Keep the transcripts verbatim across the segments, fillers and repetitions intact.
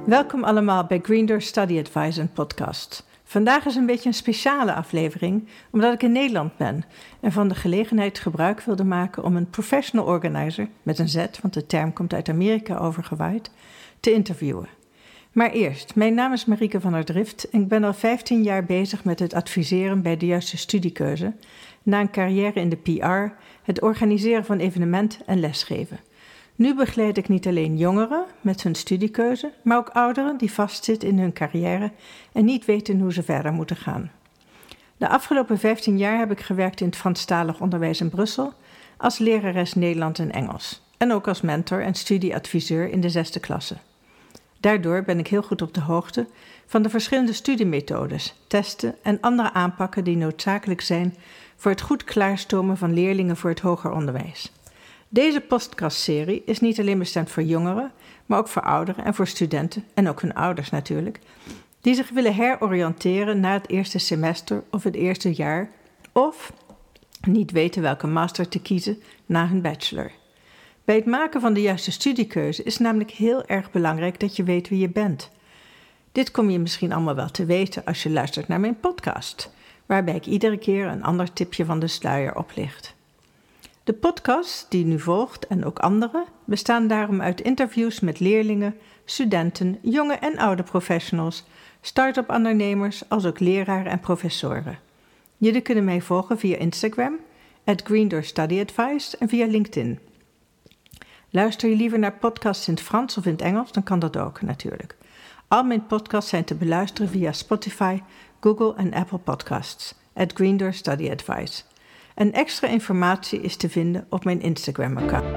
Welkom allemaal bij Green Door Study Advice, een podcast. Vandaag is een beetje een speciale aflevering, omdat ik in Nederland ben en van de gelegenheid gebruik wilde maken om een professional organizer, met een Z, want de term komt uit Amerika overgewaaid, te interviewen. Maar eerst, mijn naam is Marieke van der Drift en ik ben al vijftien jaar bezig met het adviseren bij de juiste studiekeuze, na een carrière in de P R, het organiseren van evenementen en lesgeven. Nu begeleid ik niet alleen jongeren met hun studiekeuze, maar ook ouderen die vastzitten in hun carrière en niet weten hoe ze verder moeten gaan. De afgelopen vijftien jaar heb ik gewerkt in het Franstalig onderwijs in Brussel, als lerares Nederlands en Engels en ook als mentor en studieadviseur in de zesde klasse. Daardoor ben ik heel goed op de hoogte van de verschillende studiemethodes, testen en andere aanpakken die noodzakelijk zijn voor het goed klaarstomen van leerlingen voor het hoger onderwijs. Deze podcastserie is niet alleen bestemd voor jongeren, maar ook voor ouderen en voor studenten, en ook hun ouders natuurlijk, die zich willen heroriënteren na het eerste semester of het eerste jaar, of niet weten welke master te kiezen na hun bachelor. Bij het maken van de juiste studiekeuze is namelijk heel erg belangrijk dat je weet wie je bent. Dit kom je misschien allemaal wel te weten als je luistert naar mijn podcast, waarbij ik iedere keer een ander tipje van de sluier oplicht. De podcast die nu volgt en ook andere bestaan daarom uit interviews met leerlingen, studenten, jonge en oude professionals, start-up ondernemers als ook leraren en professoren. Jullie kunnen mij volgen via Instagram, at Green Door Study Advice en via LinkedIn. Luister je liever naar podcasts in het Frans of in het Engels, dan kan dat ook natuurlijk. Al mijn podcasts zijn te beluisteren via Spotify, Google en Apple Podcasts, at Green Door Study Advice. En extra informatie is te vinden op mijn Instagram-account.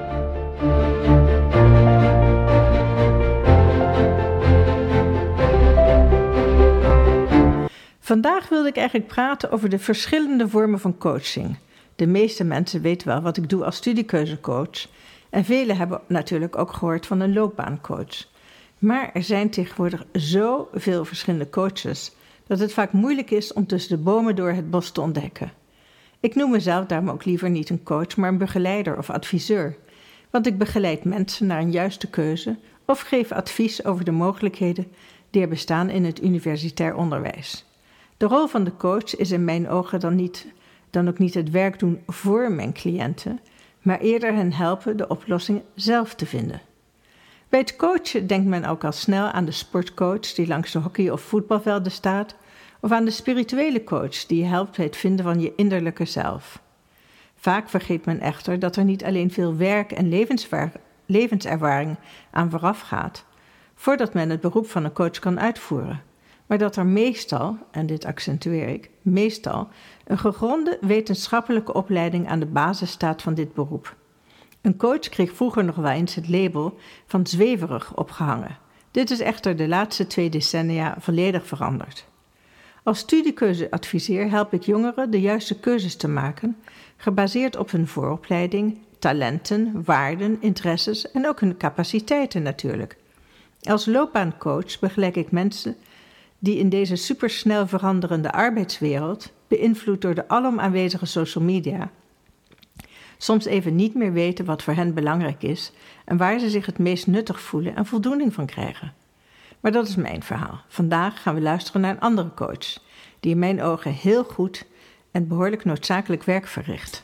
Vandaag wilde ik eigenlijk praten over de verschillende vormen van coaching. De meeste mensen weten wel wat ik doe als studiekeuzecoach. En velen hebben natuurlijk ook gehoord van een loopbaancoach. Maar er zijn tegenwoordig zoveel verschillende coaches dat het vaak moeilijk is om tussen de bomen door het bos te ontdekken. Ik noem mezelf daarom ook liever niet een coach, maar een begeleider of adviseur. Want ik begeleid mensen naar een juiste keuze of geef advies over de mogelijkheden die er bestaan in het universitair onderwijs. De rol van de coach is in mijn ogen dan, niet, dan ook niet het werk doen voor mijn cliënten, maar eerder hen helpen de oplossing zelf te vinden. Bij het coachen denkt men ook al snel aan de sportcoach die langs de hockey- of voetbalvelden staat, of aan de spirituele coach die je helpt bij het vinden van je innerlijke zelf. Vaak vergeet men echter dat er niet alleen veel werk en levenservaring aan vooraf gaat, voordat men het beroep van een coach kan uitvoeren, maar dat er meestal, en dit accentueer ik, meestal een gegronde wetenschappelijke opleiding aan de basis staat van dit beroep. Een coach kreeg vroeger nog wel eens het label van zweverig opgehangen. Dit is echter de laatste twee decennia volledig veranderd. Als studiekeuzeadviseur help ik jongeren de juiste keuzes te maken, gebaseerd op hun vooropleiding, talenten, waarden, interesses en ook hun capaciteiten natuurlijk. Als loopbaancoach begeleid ik mensen die in deze supersnel veranderende arbeidswereld, beïnvloed door de alom aanwezige social media, soms even niet meer weten wat voor hen belangrijk is en waar ze zich het meest nuttig voelen en voldoening van krijgen. Maar dat is mijn verhaal. Vandaag gaan we luisteren naar een andere coach, die in mijn ogen heel goed en behoorlijk noodzakelijk werk verricht.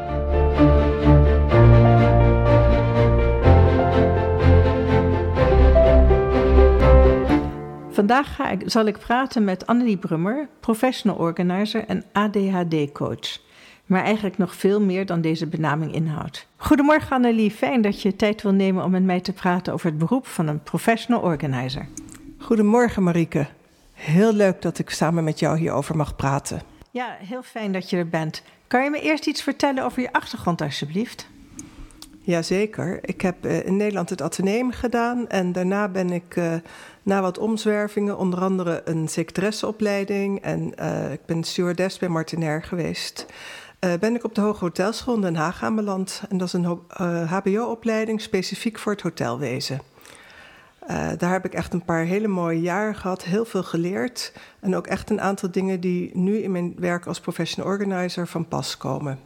Vandaag ga ik, zal ik praten met Annelie Brummer, professional organizer en A D H D-coach. Maar eigenlijk nog veel meer dan deze benaming inhoudt. Goedemorgen Annelie, fijn dat je tijd wil nemen om met mij te praten over het beroep van een professional organizer. Goedemorgen Marieke. Heel leuk dat ik samen met jou hierover mag praten. Ja, heel fijn dat je er bent. Kan je me eerst iets vertellen over je achtergrond alsjeblieft? Jazeker. Ik heb uh, in Nederland het Atheneum gedaan en daarna ben ik uh, na wat omzwervingen, onder andere een secretaresseopleiding en uh, ik ben stewardess bij Martinair geweest. Uh, ben ik op de Hoge Hotelschool in Den Haag aanbeland en dat is een uh, H B O-opleiding specifiek voor het hotelwezen. Uh, daar heb ik echt een paar hele mooie jaren gehad, heel veel geleerd en ook echt een aantal dingen die nu in mijn werk als professional organizer van pas komen.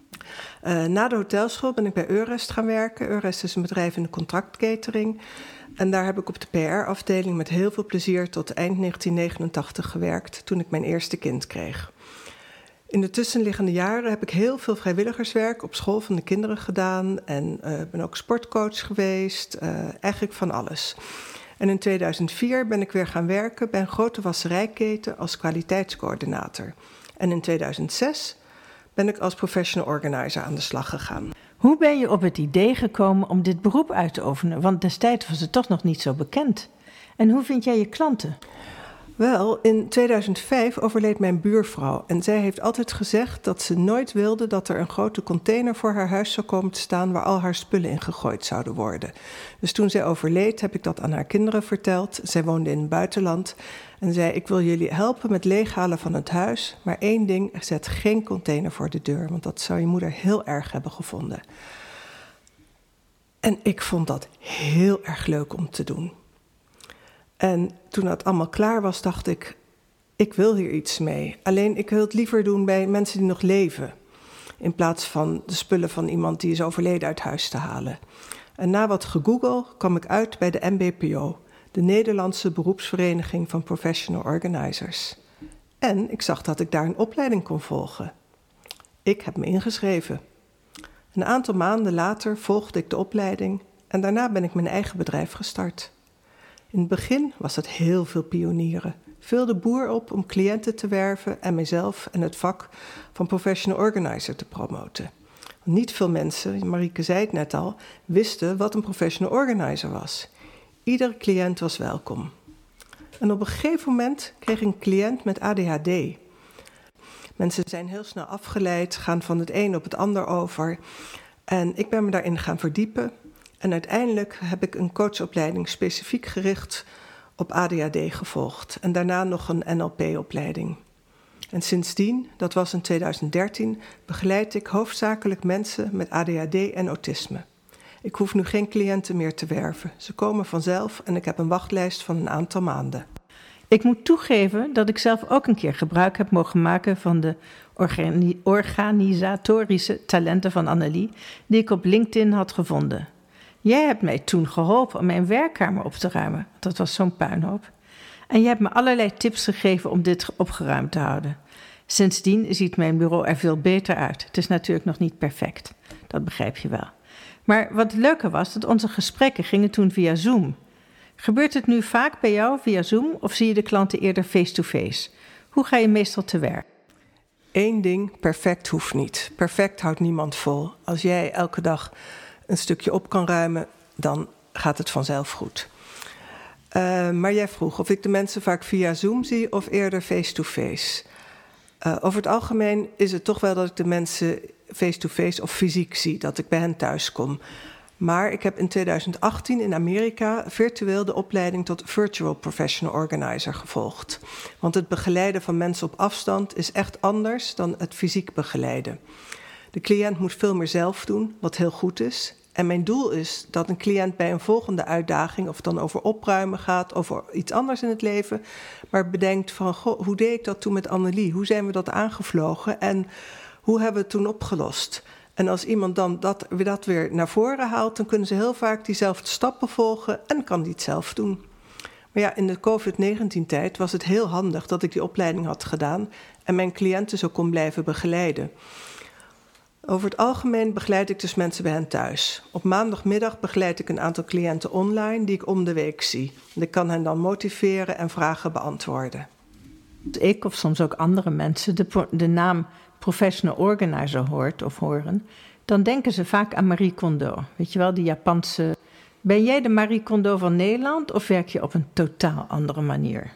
Uh, na de hotelschool ben ik bij Eurest gaan werken. Eurest is een bedrijf in de contractcatering. En daar heb ik op de P R-afdeling met heel veel plezier tot eind negentien negenentachtig gewerkt, toen ik mijn eerste kind kreeg. In de tussenliggende jaren heb ik heel veel vrijwilligerswerk op school van de kinderen gedaan en uh, ben ook sportcoach geweest, uh, eigenlijk van alles. En in tweeduizend vier ben ik weer gaan werken bij een grote wasserijketen als kwaliteitscoördinator. En in tweeduizend zes ben ik als professional organizer aan de slag gegaan. Hoe ben je op het idee gekomen om dit beroep uit te oefenen? Want destijds was het toch nog niet zo bekend. En hoe vind jij je klanten? Wel, in tweeduizend vijf overleed mijn buurvrouw en zij heeft altijd gezegd dat ze nooit wilde dat er een grote container voor haar huis zou komen te staan waar al haar spullen in gegooid zouden worden. Dus toen zij overleed heb ik dat aan haar kinderen verteld. Zij woonde in het buitenland en zei: ik wil jullie helpen met leeghalen van het huis, maar één ding, zet geen container voor de deur, want dat zou je moeder heel erg hebben gevonden. En ik vond dat heel erg leuk om te doen. En toen dat allemaal klaar was, dacht ik, ik wil hier iets mee. Alleen ik wil het liever doen bij mensen die nog leven, in plaats van de spullen van iemand die is overleden uit huis te halen. En na wat gegoogeld kwam ik uit bij de N B P O, de Nederlandse Beroepsvereniging van Professional Organizers. En ik zag dat ik daar een opleiding kon volgen. Ik heb me ingeschreven. Een aantal maanden later volgde ik de opleiding en daarna ben ik mijn eigen bedrijf gestart. In het begin was het heel veel pionieren. Veel de boer op om cliënten te werven en mijzelf en het vak van professional organizer te promoten. Niet veel mensen, Marieke zei het net al, wisten wat een professional organizer was. Iedere cliënt was welkom. En op een gegeven moment kreeg ik een cliënt met A D H D. Mensen zijn heel snel afgeleid, gaan van het een op het ander over. En ik ben me daarin gaan verdiepen. En uiteindelijk heb ik een coachopleiding specifiek gericht op A D H D gevolgd. En daarna nog een N L P-opleiding. En sindsdien, dat was in tweeduizend dertien, begeleid ik hoofdzakelijk mensen met A D H D en autisme. Ik hoef nu geen cliënten meer te werven. Ze komen vanzelf en ik heb een wachtlijst van een aantal maanden. Ik moet toegeven dat ik zelf ook een keer gebruik heb mogen maken van de organi- organisatorische talenten van Annelie, die ik op LinkedIn had gevonden. Jij hebt mij toen geholpen om mijn werkkamer op te ruimen. Dat was zo'n puinhoop. En je hebt me allerlei tips gegeven om dit opgeruimd te houden. Sindsdien ziet mijn bureau er veel beter uit. Het is natuurlijk nog niet perfect. Dat begrijp je wel. Maar wat leuker was, dat onze gesprekken gingen toen via Zoom. Gebeurt het nu vaak bij jou via Zoom of zie je de klanten eerder face-to-face? Hoe ga je meestal te werk? Eén ding, perfect hoeft niet. Perfect houdt niemand vol. Als jij elke dag een stukje op kan ruimen, dan gaat het vanzelf goed. Uh, maar jij vroeg of ik de mensen vaak via Zoom zie of eerder face-to-face. Uh, over het algemeen is het toch wel dat ik de mensen face-to-face of fysiek zie, dat ik bij hen thuis kom. Maar ik heb in tweeduizend achttien in Amerika virtueel de opleiding tot Virtual Professional Organizer gevolgd. Want het begeleiden van mensen op afstand is echt anders dan het fysiek begeleiden. De cliënt moet veel meer zelf doen, wat heel goed is. En mijn doel is dat een cliënt bij een volgende uitdaging, of het dan over opruimen gaat, over iets anders in het leven, maar bedenkt van, goh, hoe deed ik dat toen met Annelie? Hoe zijn we dat aangevlogen en hoe hebben we het toen opgelost? En als iemand dan dat, dat weer naar voren haalt, dan kunnen ze heel vaak diezelfde stappen volgen en kan die het zelf doen. Maar ja, in de covid negentien tijd was het heel handig dat ik die opleiding had gedaan en mijn cliënten zo kon blijven begeleiden. Over het algemeen begeleid ik dus mensen bij hen thuis. Op maandagmiddag begeleid ik een aantal cliënten online die ik om de week zie. Ik kan hen dan motiveren en vragen beantwoorden. Ik of soms ook andere mensen de, de naam professional organizer hoort of horen, dan denken ze vaak aan Marie Kondo. Weet je wel, die Japanse. Ben jij de Marie Kondo van Nederland of werk je op een totaal andere manier?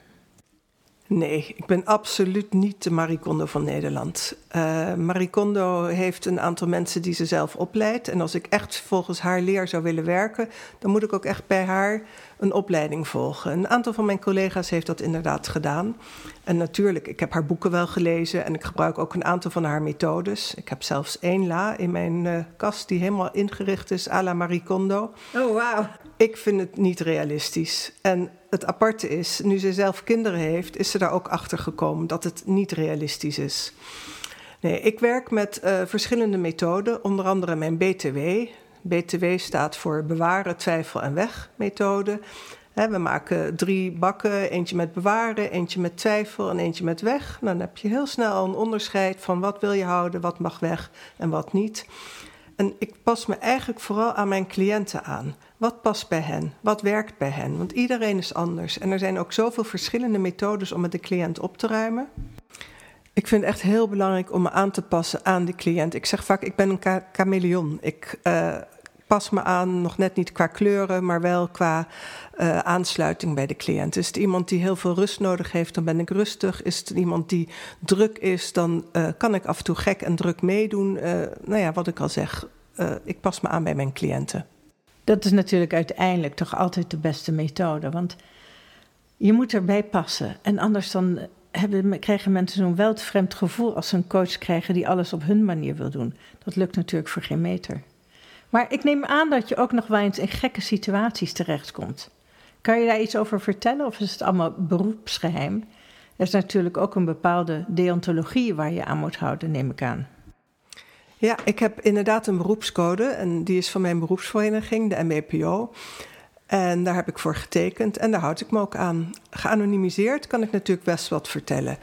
Nee, ik ben absoluut niet de Marie Kondo van Nederland. Uh, Marie Kondo heeft een aantal mensen die ze zelf opleidt. En als ik echt volgens haar leer zou willen werken, dan moet ik ook echt bij haar een opleiding volgen. Een aantal van mijn collega's heeft dat inderdaad gedaan. En natuurlijk, ik heb haar boeken wel gelezen en ik gebruik ook een aantal van haar methodes. Ik heb zelfs één la in mijn uh, kast die helemaal ingericht is à la Marie Kondo. Oh, wauw. Ik vind het niet realistisch. En het aparte is, nu ze zelf kinderen heeft, is ze daar ook achter gekomen dat het niet realistisch is. Nee, ik werk met uh, verschillende methoden, onder andere mijn B T W, B T W staat voor bewaren, twijfel en weg methode. He, we maken drie bakken, eentje met bewaren, eentje met twijfel en eentje met weg. Dan heb je heel snel een onderscheid van wat wil je houden, wat mag weg en wat niet. En ik pas me eigenlijk vooral aan mijn cliënten aan. Wat past bij hen? Wat werkt bij hen? Want iedereen is anders. En er zijn ook zoveel verschillende methodes om met de cliënt op te ruimen. Ik vind het echt heel belangrijk om me aan te passen aan de cliënt. Ik zeg vaak, ik ben een ka- chameleon. Ik uh, pas me aan, nog net niet qua kleuren, maar wel qua uh, aansluiting bij de cliënt. Is het iemand die heel veel rust nodig heeft, dan ben ik rustig. Is het iemand die druk is, dan uh, kan ik af en toe gek en druk meedoen. Uh, nou ja, wat ik al zeg, uh, ik pas me aan bij mijn cliënten. Dat is natuurlijk uiteindelijk toch altijd de beste methode. Want je moet erbij passen. En anders dan hebben, krijgen mensen zo'n welvreemd gevoel als ze een coach krijgen die alles op hun manier wil doen. Dat lukt natuurlijk voor geen meter. Maar ik neem aan dat je ook nog wel eens in gekke situaties terechtkomt. Kan je daar iets over vertellen of is het allemaal beroepsgeheim? Er is natuurlijk ook een bepaalde deontologie waar je aan moet houden, neem ik aan. Ja, ik heb inderdaad een beroepscode en die is van mijn beroepsvereniging, de M B P O. En daar heb ik voor getekend en daar houd ik me ook aan. Geanonimiseerd kan ik natuurlijk best wat vertellen.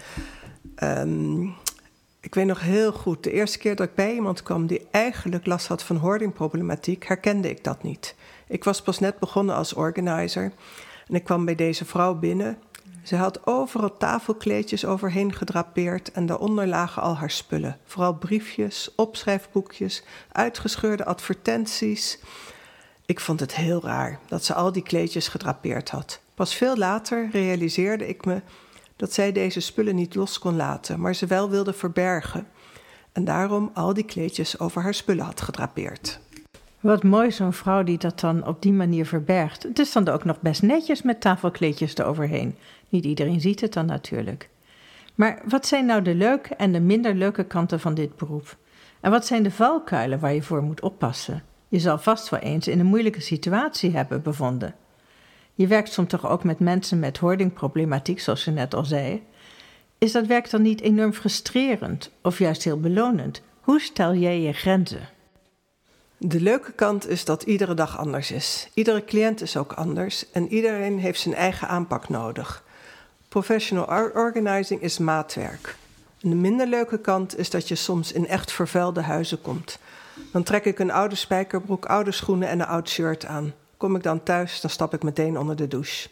Um, ik weet nog heel goed, de eerste keer dat ik bij iemand kwam die eigenlijk last had van hoardingproblematiek, herkende ik dat niet. Ik was pas net begonnen als organizer en ik kwam bij deze vrouw binnen. Ze had overal tafelkleedjes overheen gedrapeerd en daaronder lagen al haar spullen. Vooral briefjes, opschrijfboekjes, uitgescheurde advertenties. Ik vond het heel raar dat ze al die kleedjes gedrapeerd had. Pas veel later realiseerde ik me dat zij deze spullen niet los kon laten, maar ze wel wilde verbergen. En daarom al die kleedjes over haar spullen had gedrapeerd. Wat mooi, zo'n vrouw die dat dan op die manier verbergt. Het is dan ook nog best netjes met tafelkleedjes eroverheen. Niet iedereen ziet het dan natuurlijk. Maar wat zijn nou de leuke en de minder leuke kanten van dit beroep? En wat zijn de valkuilen waar je voor moet oppassen? Je zal vast wel eens in een moeilijke situatie hebben bevonden. Je werkt soms toch ook met mensen met hoardingproblematiek, zoals je net al zei. Is dat werk dan niet enorm frustrerend of juist heel belonend? Hoe stel jij je grenzen? De leuke kant is dat iedere dag anders is. Iedere cliënt is ook anders en iedereen heeft zijn eigen aanpak nodig. Professional organizing is maatwerk. En de minder leuke kant is dat je soms in echt vervuilde huizen komt. Dan trek ik een oude spijkerbroek, oude schoenen en een oud shirt aan. Kom ik dan thuis, dan stap ik meteen onder de douche.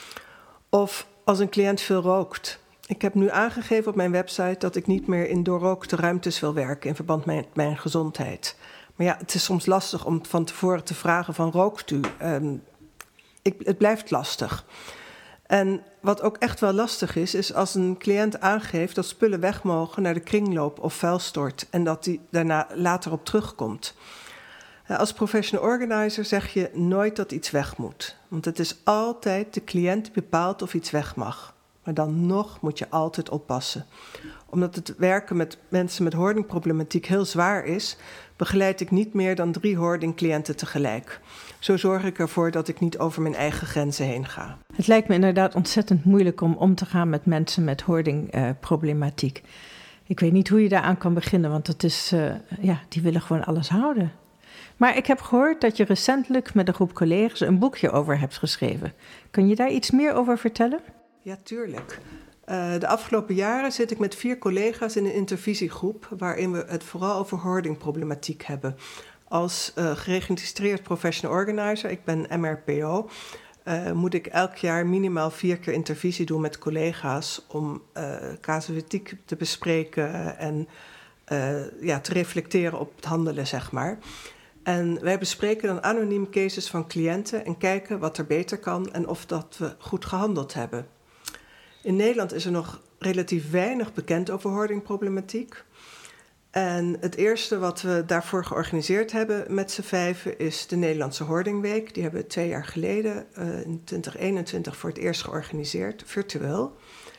Of als een cliënt veel rookt. Ik heb nu aangegeven op mijn website dat ik niet meer in doorrookte ruimtes wil werken in verband met mijn gezondheid. Maar ja, het is soms lastig om van tevoren te vragen van rookt u? Um, ik, het blijft lastig. En wat ook echt wel lastig is, is als een cliënt aangeeft dat spullen weg mogen naar de kringloop of vuilstort en dat die daarna later op terugkomt. Als professional organizer zeg je nooit dat iets weg moet. Want het is altijd de cliënt die bepaalt of iets weg mag. Maar dan nog moet je altijd oppassen. Omdat het werken met mensen met hoardingproblematiek heel zwaar is, begeleid ik niet meer dan drie hoardingcliënten tegelijk. Zo zorg ik ervoor dat ik niet over mijn eigen grenzen heen ga. Het lijkt me inderdaad ontzettend moeilijk om om te gaan met mensen met hoardingproblematiek. Uh, ik weet niet hoe je daaraan kan beginnen, want het is, uh, ja, die willen gewoon alles houden. Maar ik heb gehoord dat je recentelijk met een groep collega's een boekje over hebt geschreven. Kun je daar iets meer over vertellen? Ja, tuurlijk. Uh, de afgelopen jaren zit ik met vier collega's in een intervisiegroep waarin we het vooral over hoardingproblematiek hebben. Als uh, geregistreerd professional organizer, ik ben M R P O, uh, moet ik elk jaar minimaal vier keer intervisie doen met collega's om uh, casuïstiek te bespreken en uh, ja, te reflecteren op het handelen, zeg maar. En wij bespreken dan anoniem cases van cliënten en kijken wat er beter kan en of dat we goed gehandeld hebben. In Nederland is er nog relatief weinig bekend over hoardingproblematiek. En het eerste wat we daarvoor georganiseerd hebben met z'n vijven is de Nederlandse Hoardingweek. Die hebben we twee jaar geleden uh, in twintig eenentwintig voor het eerst georganiseerd, virtueel.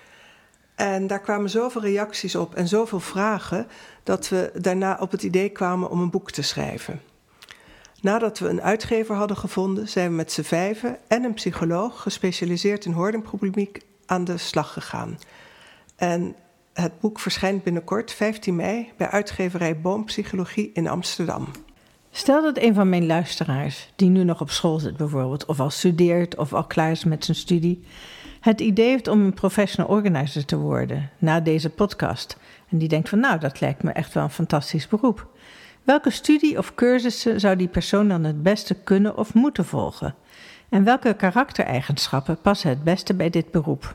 En daar kwamen zoveel reacties op en zoveel vragen dat we daarna op het idee kwamen om een boek te schrijven. Nadat we een uitgever hadden gevonden, zijn we met z'n vijven en een psycholoog gespecialiseerd in hoardingproblematiek aan de slag gegaan. En het boek verschijnt binnenkort, vijftien mei, bij uitgeverij Boompsychologie in Amsterdam. Stel dat een van mijn luisteraars, die nu nog op school zit bijvoorbeeld, of al studeert of al klaar is met zijn studie, het idee heeft om een professional organizer te worden na deze podcast. En die denkt van nou, dat lijkt me echt wel een fantastisch beroep. Welke studie of cursussen zou die persoon dan het beste kunnen of moeten volgen? En welke karaktereigenschappen passen het beste bij dit beroep?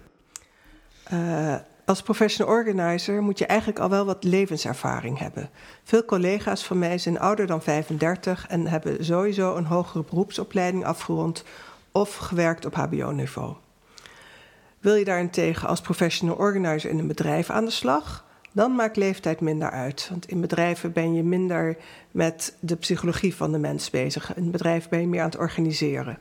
Uh, als professional organizer moet je eigenlijk al wel wat levenservaring hebben. Veel collega's van mij zijn ouder dan vijfendertig en hebben sowieso een hogere beroepsopleiding afgerond of gewerkt op H B O-niveau. Wil je daarentegen als professional organizer in een bedrijf aan de slag, dan maakt leeftijd minder uit. Want in bedrijven ben je minder met de psychologie van de mens bezig. In een bedrijf ben je meer aan het organiseren.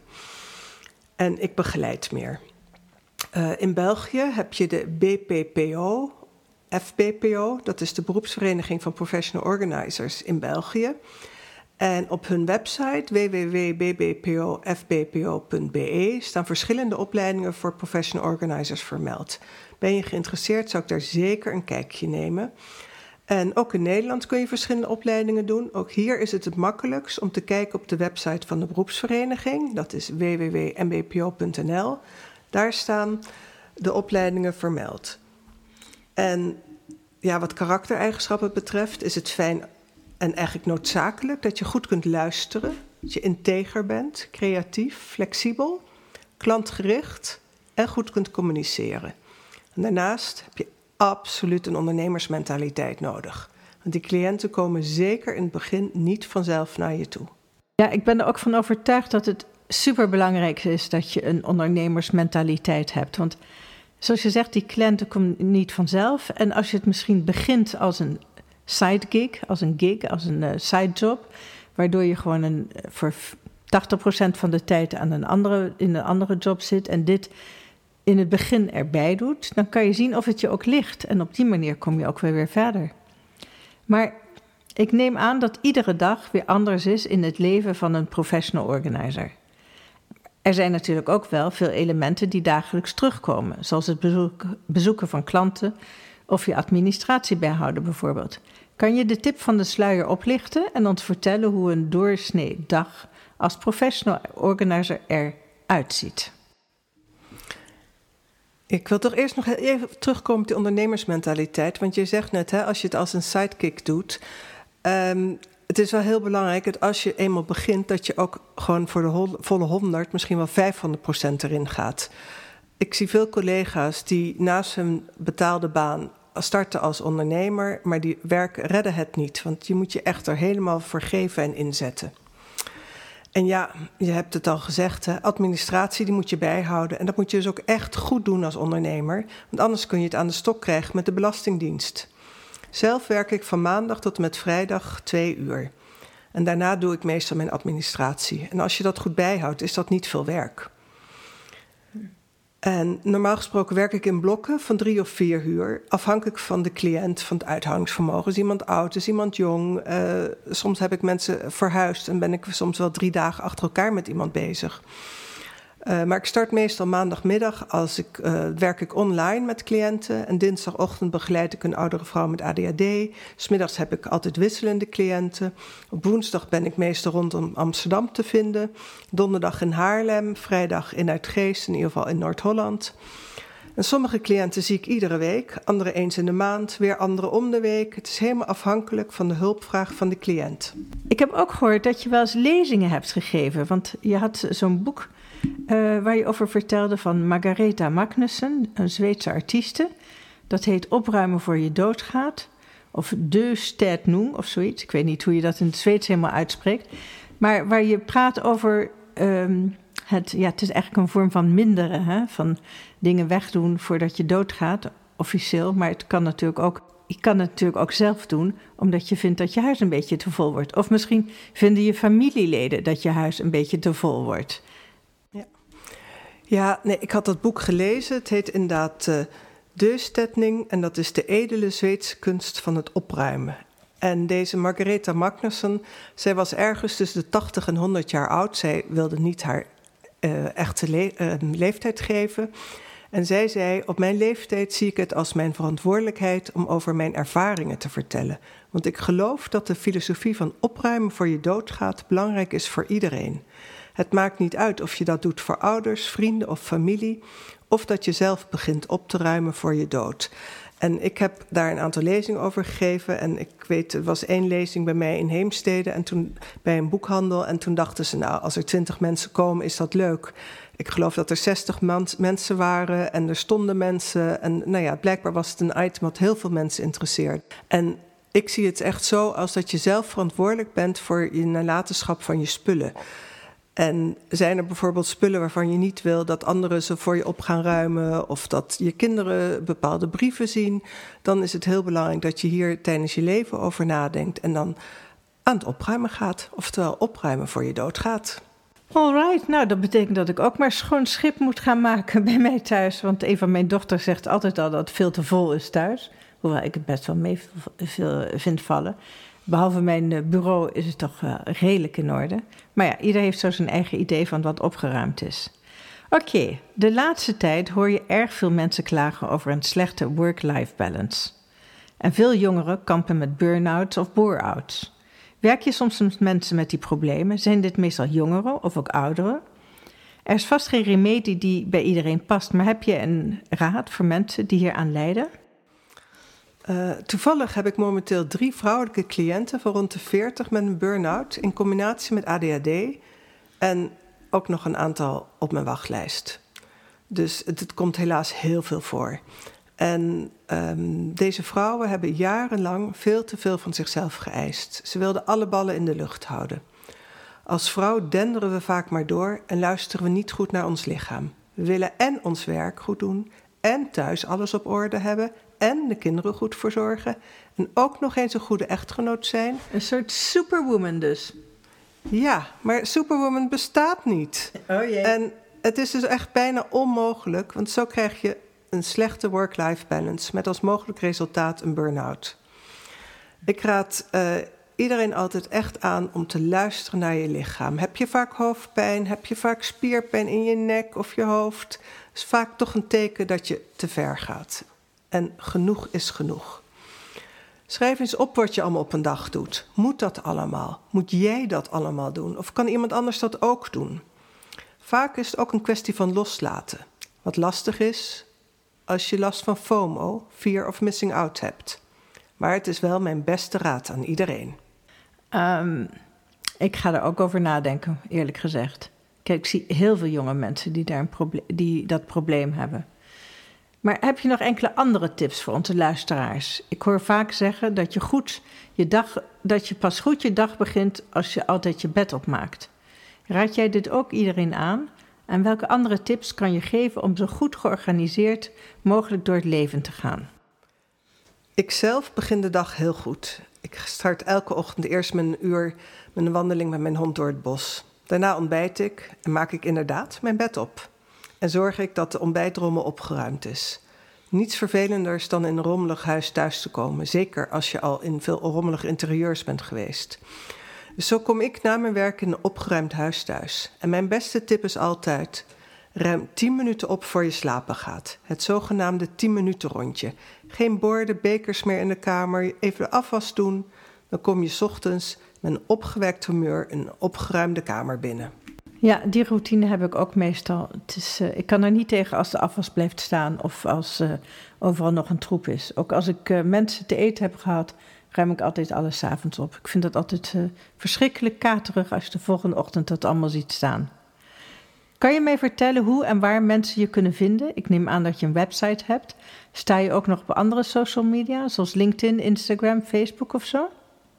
En ik begeleid meer. Uh, in België heb je de B P P O, F B P O. Dat is de beroepsvereniging van professional organizers in België. En op hun website w w w punt b b p o f b p o punt b e staan verschillende opleidingen voor professional organizers vermeld. Ben je geïnteresseerd, zou ik daar zeker een kijkje nemen. En ook in Nederland kun je verschillende opleidingen doen. Ook hier is het het makkelijkst om te kijken op de website van de beroepsvereniging. Dat is w w w punt m b p o punt n l. Daar staan de opleidingen vermeld. En ja, wat karaktereigenschappen betreft is het fijn en eigenlijk noodzakelijk dat je goed kunt luisteren, dat je integer bent, creatief, flexibel, klantgericht en goed kunt communiceren. En daarnaast heb je absoluut een ondernemersmentaliteit nodig. Want die cliënten komen zeker in het begin niet vanzelf naar je toe. Ja, ik ben er ook van overtuigd dat het superbelangrijk is dat je een ondernemersmentaliteit hebt. Want zoals je zegt, die cliënten komen niet vanzelf. En als je het misschien begint als een sidegig, als een gig, als een uh, sidejob, waardoor je gewoon een, voor tachtig procent van de tijd aan een andere, in een andere job zit en dit in het begin erbij doet, dan kan je zien of het je ook ligt. En op die manier kom je ook weer, weer verder. Maar ik neem aan dat iedere dag weer anders is in het leven van een professional organizer. Er zijn natuurlijk ook wel veel elementen die dagelijks terugkomen, zoals het bezoek, bezoeken van klanten of je administratie bijhouden bijvoorbeeld. Kan je de tip van de sluier oplichten en ons vertellen hoe een doorsnee dag als professional organizer eruit ziet? Ik wil toch eerst nog even terugkomen op die ondernemersmentaliteit. Want je zegt net, hè, als je het als een sidekick doet, Um, het is wel heel belangrijk dat als je eenmaal begint, dat je ook gewoon voor de hol- volle honderd, misschien wel vijfhonderd procent erin gaat. Ik zie veel collega's die naast hun betaalde baan starten als ondernemer, maar die werk redden het niet. Want je moet je echt er helemaal voor geven en inzetten. En ja, je hebt het al gezegd, hè, administratie die moet je bijhouden. En dat moet je dus ook echt goed doen als ondernemer. Want anders kun je het aan de stok krijgen met de Belastingdienst. Zelf werk ik van maandag tot en met vrijdag twee uur. En daarna doe ik meestal mijn administratie. En als je dat goed bijhoudt, is dat niet veel werk. En normaal gesproken werk ik in blokken van drie of vier uur. Afhankelijk van de cliënt, van het uithoudingsvermogen. Is iemand oud, is iemand jong? Uh, soms heb ik mensen verhuisd en ben ik soms wel drie dagen achter elkaar met iemand bezig. Uh, maar ik start meestal maandagmiddag, als ik, uh, werk ik online met cliënten. En dinsdagochtend begeleid ik een oudere vrouw met A D H D. 'S Middags heb ik altijd wisselende cliënten. Op woensdag ben ik meestal rondom Amsterdam te vinden. Donderdag in Haarlem, vrijdag in Uitgeest, in ieder geval in Noord-Holland. En sommige cliënten zie ik iedere week, andere eens in de maand, weer andere om de week. Het is helemaal afhankelijk van de hulpvraag van de cliënt. Ik heb ook gehoord dat je wel eens lezingen hebt gegeven, want je had zo'n boek Uh, waar je over vertelde van Margaretha Magnussen, een Zweedse artieste. Dat heet Opruimen voor je doodgaat. Of De Städning of zoiets. Ik weet niet hoe je dat in het Zweeds helemaal uitspreekt. Maar waar je praat over um, het... Ja, het is eigenlijk een vorm van minderen. Hè? Van dingen wegdoen voordat je doodgaat, officieel. Maar het kan natuurlijk ook... Je kan het natuurlijk ook zelf doen, omdat je vindt dat je huis een beetje te vol wordt. Of misschien vinden je familieleden dat je huis een beetje te vol wordt. Ja, nee, ik had dat boek gelezen. Het heet inderdaad uh, De Städning en dat is de edele Zweedse kunst van het opruimen. En deze Margaretha Magnussen, zij was ergens tussen de tachtig en honderd jaar oud. Zij wilde niet haar uh, echte le- uh, leeftijd geven. En zij zei, op mijn leeftijd zie ik het als mijn verantwoordelijkheid om over mijn ervaringen te vertellen. Want ik geloof dat de filosofie van opruimen voor je doodgaat belangrijk is voor iedereen. Het maakt niet uit of je dat doet voor ouders, vrienden of familie, of dat je zelf begint op te ruimen voor je dood. En ik heb daar een aantal lezingen over gegeven. En ik weet, er was één lezing bij mij in Heemstede en toen bij een boekhandel. En toen dachten ze, nou, als er twintig mensen komen, is dat leuk. Ik geloof dat er zestig man, mensen waren en er stonden mensen. En nou ja, blijkbaar was het een item wat heel veel mensen interesseert. En ik zie het echt zo als dat je zelf verantwoordelijk bent voor je nalatenschap van je spullen. En zijn er bijvoorbeeld spullen waarvan je niet wil dat anderen ze voor je op gaan ruimen, of dat je kinderen bepaalde brieven zien, dan is het heel belangrijk dat je hier tijdens je leven over nadenkt en dan aan het opruimen gaat. Oftewel opruimen voor je dood gaat. Alright, nou dat betekent dat ik ook maar schoon schip moet gaan maken bij mij thuis. Want een van mijn dochters zegt altijd al dat het veel te vol is thuis. Hoewel ik het best wel mee veel vind vallen. Behalve mijn bureau is het toch uh, redelijk in orde. Maar ja, ieder heeft zo zijn eigen idee van wat opgeruimd is. Oké, okay, de laatste tijd hoor je erg veel mensen klagen over een slechte work-life balance. En veel jongeren kampen met burn-outs of bore-outs. Werk je soms met mensen met die problemen? Zijn dit meestal jongeren of ook ouderen? Er is vast geen remedie die bij iedereen past, maar heb je een raad voor mensen die hier aan lijden? Uh, toevallig heb ik momenteel drie vrouwelijke cliënten van rond de veertig met een burn-out in combinatie met A D H D en ook nog een aantal op mijn wachtlijst. Dus het, het komt helaas heel veel voor. En um, deze vrouwen hebben jarenlang veel te veel van zichzelf geëist. Ze wilden alle ballen in de lucht houden. Als vrouw denderen we vaak maar door en luisteren we niet goed naar ons lichaam. We willen en ons werk goed doen en thuis alles op orde hebben en de kinderen goed verzorgen en ook nog eens een goede echtgenoot zijn. Een soort superwoman dus. Ja, maar superwoman bestaat niet. Oh jee. En het is dus echt bijna onmogelijk, want zo krijg je een slechte work-life balance met als mogelijk resultaat een burn-out. Ik raad uh, iedereen altijd echt aan om te luisteren naar je lichaam. Heb je vaak hoofdpijn? Heb je vaak spierpijn in je nek of je hoofd? Dat is vaak toch een teken dat je te ver gaat. En genoeg is genoeg. Schrijf eens op wat je allemaal op een dag doet. Moet dat allemaal? Moet jij dat allemaal doen? Of kan iemand anders dat ook doen? Vaak is het ook een kwestie van loslaten. Wat lastig is als je last van FOMO, fear of missing out, hebt. Maar het is wel mijn beste raad aan iedereen. Um, ik ga er ook over nadenken, eerlijk gezegd. Kijk, ik zie heel veel jonge mensen die, daar een proble- die dat probleem hebben. Maar heb je nog enkele andere tips voor onze luisteraars? Ik hoor vaak zeggen dat je, goed je, dag, dat je pas goed je dag begint als je altijd je bed opmaakt. Raad jij dit ook iedereen aan? En welke andere tips kan je geven om zo goed georganiseerd mogelijk door het leven te gaan? Ik zelf begin de dag heel goed. Ik start elke ochtend eerst met een uur met een wandeling met mijn hond door het bos. Daarna ontbijt ik en maak ik inderdaad mijn bed op. En zorg ik dat de ontbijtrommel opgeruimd is. Niets vervelenders dan in een rommelig huis thuis te komen. Zeker als je al in veel rommelige interieurs bent geweest. Dus zo kom ik na mijn werk in een opgeruimd huis thuis. En mijn beste tip is altijd: ruim tien minuten op voor je slapen gaat. Het zogenaamde tien minuten rondje. Geen borden, bekers meer in de kamer. Even de afwas doen. Dan kom je 's ochtends met een opgewekt humeur een opgeruimde kamer binnen. Ja, die routine heb ik ook meestal. Het is, uh, ik kan er niet tegen als de afwas blijft staan of als uh, overal nog een troep is. Ook als ik uh, mensen te eten heb gehad, ruim ik altijd alles 's avonds op. Ik vind dat altijd uh, verschrikkelijk katerig als je de volgende ochtend dat allemaal ziet staan. Kan je mij vertellen hoe en waar mensen je kunnen vinden? Ik neem aan dat je een website hebt. Sta je ook nog op andere social media, zoals LinkedIn, Instagram, Facebook of zo?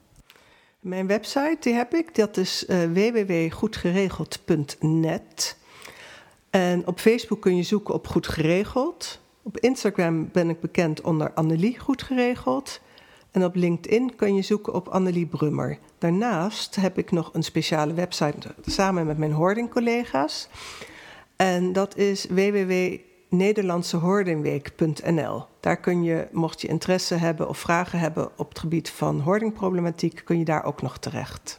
Mijn website, die heb ik, dat is uh, w w w punt goed geregeld punt net. En op Facebook kun je zoeken op Goed Geregeld. Op Instagram ben ik bekend onder Annelie Goed Geregeld. En op LinkedIn kun je zoeken op Annelie Brummer. Daarnaast heb ik nog een speciale website samen met mijn hoarding-collega's. En dat is w w w punt nederlandse hoardingweek punt n l. Daar kun je, mocht je interesse hebben of vragen hebben op het gebied van hoardingproblematiek, kun je daar ook nog terecht.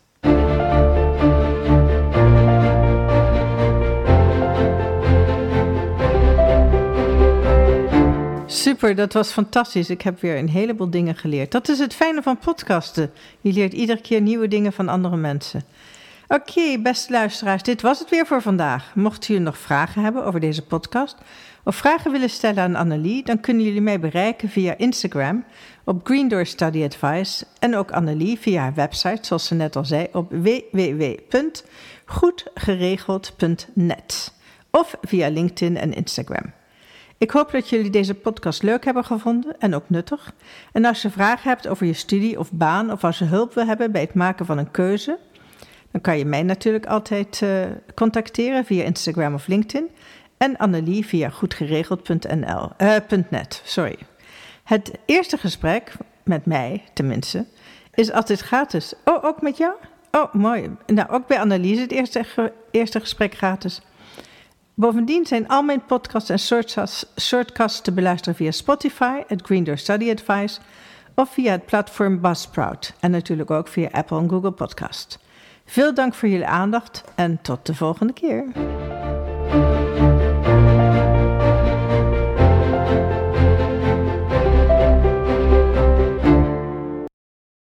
Super, dat was fantastisch. Ik heb weer een heleboel dingen geleerd. Dat is het fijne van podcasten. Je leert iedere keer nieuwe dingen van andere mensen. Oké, okay, beste luisteraars, dit was het weer voor vandaag. Mochten jullie nog vragen hebben over deze podcast of vragen willen stellen aan Annelie, dan kunnen jullie mij bereiken via Instagram op Green Door Study Advice en ook Annelie via haar website, zoals ze net al zei, op w w w punt goed geregeld punt net of via LinkedIn en Instagram. Ik hoop dat jullie deze podcast leuk hebben gevonden en ook nuttig. En als je vragen hebt over je studie of baan of als je hulp wil hebben bij het maken van een keuze, dan kan je mij natuurlijk altijd uh, contacteren via Instagram of LinkedIn en Annelie via goedgeregeld punt n l, uh, .net. Sorry. Het eerste gesprek, met mij tenminste, is altijd gratis. Oh, ook met jou? Oh, mooi. Nou, ook bij Annelie is het eerste, ge- eerste gesprek gratis. Bovendien zijn al mijn podcasts en shortcasts, shortcasts te beluisteren via Spotify, het Green Door Study Advice of via het platform Buzzsprout en natuurlijk ook via Apple en Google Podcast. Veel dank voor jullie aandacht en tot de volgende keer.